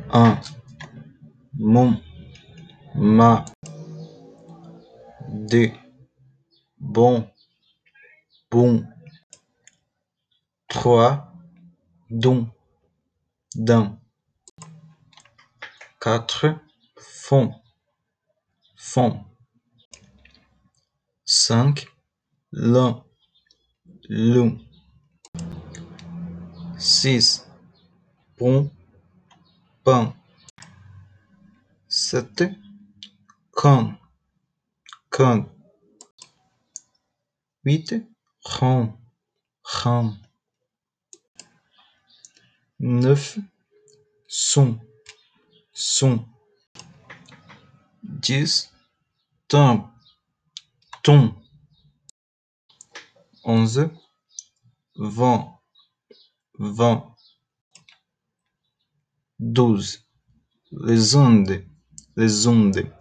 Un, mon, ma, deux, bon, bon, trois, don, d'un, quatre, fond, fond, cinq, l'un, l'un, six, bon, pain, sept, con, con, huit, rond, rond, neuf, son, son, 10, ton, ton, 11, vent, vent, 12, les ondes,